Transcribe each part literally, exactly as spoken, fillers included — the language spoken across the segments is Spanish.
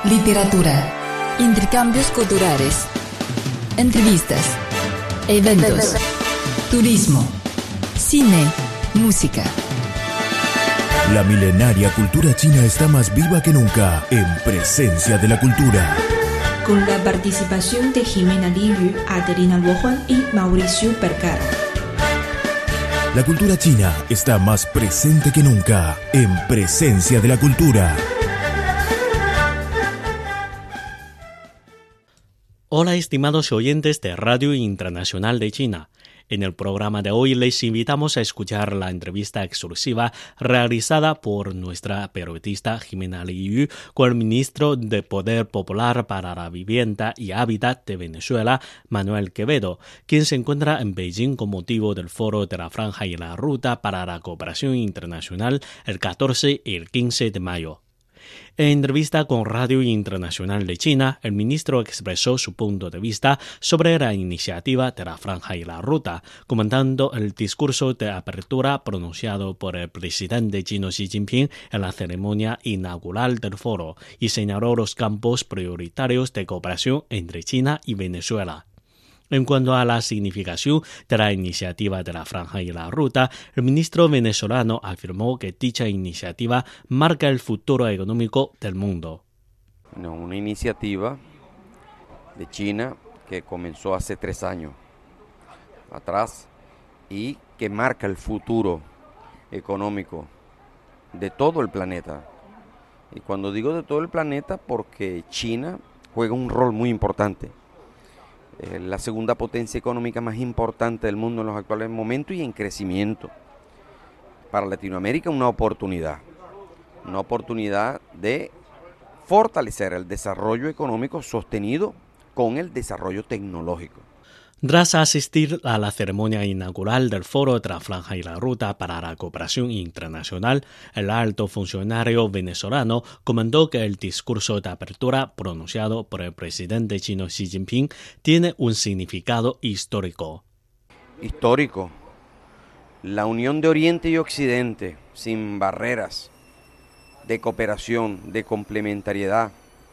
literatura, intercambios culturales, entrevistas, eventos, turismo, cine, música. La milenaria cultura china está más viva que nunca en Presencia de la Cultura. Con la participación de Jimena Liyu, Adelina Luohuan y Mauricio Vergara. La cultura china está más presente que nunca en Presencia de la Cultura. Hola, estimados oyentes de Radio Internacional de China. En el programa de hoy les invitamos a escuchar la entrevista exclusiva realizada por nuestra periodista Jimena Liyu con el ministro de Poder Popular para la Vivienda y Hábitat de Venezuela, Manuel Quevedo, quien se encuentra en Beijing con motivo del Foro de la Franja y la Ruta para la Cooperación Internacional el catorce y el quince de mayo. En entrevista con Radio Internacional de China, el ministro expresó su punto de vista sobre la iniciativa de la Franja y la Ruta, comentando el discurso de apertura pronunciado por el presidente chino Xi Jinping en la ceremonia inaugural del foro y señaló los campos prioritarios de cooperación entre China y Venezuela. En cuanto a la significación de la iniciativa de la Franja y la Ruta, el ministro venezolano afirmó que dicha iniciativa marca el futuro económico del mundo. No, una iniciativa de China que comenzó hace tres años atrás y que marca el futuro económico de todo el planeta. Y cuando digo de todo el planeta, porque China juega un rol muy importante. Eh, la segunda potencia económica más importante del mundo en los actuales momentos y en crecimiento. Para Latinoamérica una oportunidad, una oportunidad de fortalecer el desarrollo económico sostenido con el desarrollo tecnológico. Tras asistir a la ceremonia inaugural del Foro de la Franja y la Ruta para la Cooperación Internacional, el alto funcionario venezolano comentó que el discurso de apertura pronunciado por el presidente chino Xi Jinping tiene un significado histórico. Histórico. La unión de Oriente y Occidente, sin barreras, de cooperación, de complementariedad.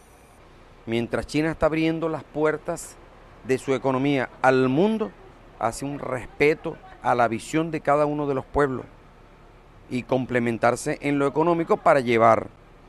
Mientras China está abriendo las puertas de su economía al mundo, hace un respeto a la visión de cada uno de los pueblos y complementarse en lo económico para llevar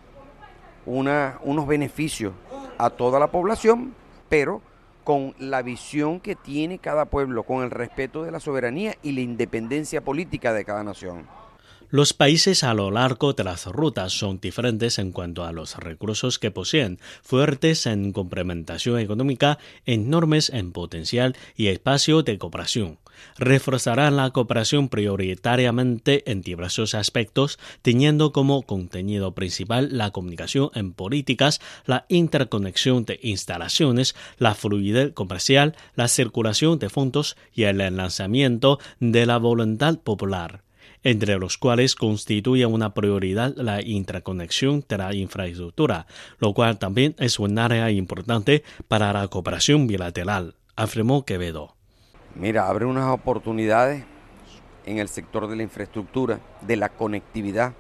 una, unos beneficios a toda la población, pero con la visión que tiene cada pueblo, con el respeto de la soberanía y la independencia política de cada nación. Los países a lo largo de las rutas son diferentes en cuanto a los recursos que poseen, fuertes en complementación económica, enormes en potencial y espacio de cooperación. Reforzarán la cooperación prioritariamente en diversos aspectos, teniendo como contenido principal la comunicación en políticas, la interconexión de instalaciones, la fluidez comercial, la circulación de fondos y el lanzamiento de la voluntad popular, entre los cuales constituye una prioridad la interconexión de la infraestructura, lo cual también es un área importante para la cooperación bilateral, afirmó Quevedo. Mira, abre unas oportunidades en el sector de la infraestructura, de la conectividad,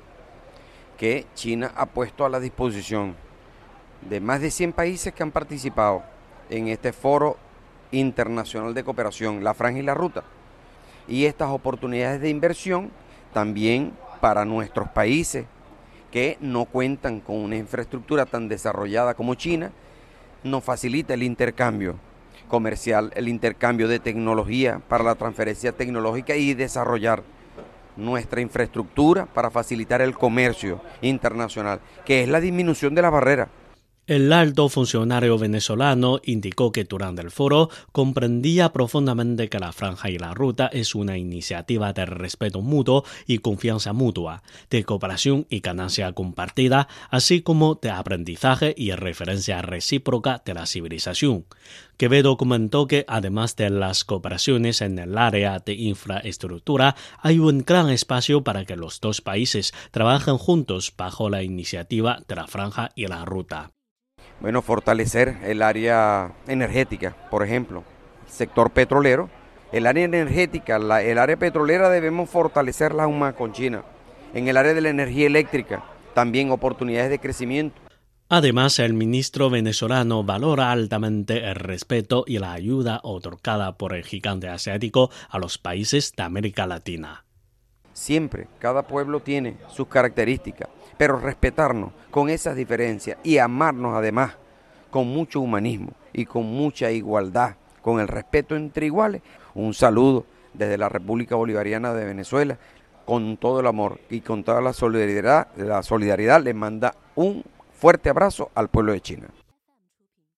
que China ha puesto a la disposición de más de cien países que han participado en este foro internacional de cooperación, la Franja y la Ruta. Y estas oportunidades de inversión también para nuestros países que no cuentan con una infraestructura tan desarrollada como China, nos facilita el intercambio comercial, el intercambio de tecnología para la transferencia tecnológica y desarrollar nuestra infraestructura para facilitar el comercio internacional, que es la disminución de la barrera. El alto funcionario venezolano indicó que durante el foro comprendía profundamente que la Franja y la Ruta es una iniciativa de respeto mutuo y confianza mutua, de cooperación y ganancia compartida, así como de aprendizaje y referencia recíproca de la civilización. Quevedo comentó que además de las cooperaciones en el área de infraestructura, hay un gran espacio para que los dos países trabajen juntos bajo la iniciativa de la Franja y la Ruta. Bueno, fortalecer el área energética, por ejemplo, sector petrolero. El área energética, la, el área petrolera debemos fortalecerla aún más con China. En el área de la energía eléctrica, también oportunidades de crecimiento. Además, el ministro venezolano valora altamente el respeto y la ayuda otorgada por el gigante asiático a los países de América Latina. Siempre, cada pueblo tiene sus características, pero respetarnos con esas diferencias y amarnos además con mucho humanismo y con mucha igualdad, con el respeto entre iguales. Un saludo desde la República Bolivariana de Venezuela, con todo el amor y con toda la solidaridad, la solidaridad les manda un fuerte abrazo al pueblo de China.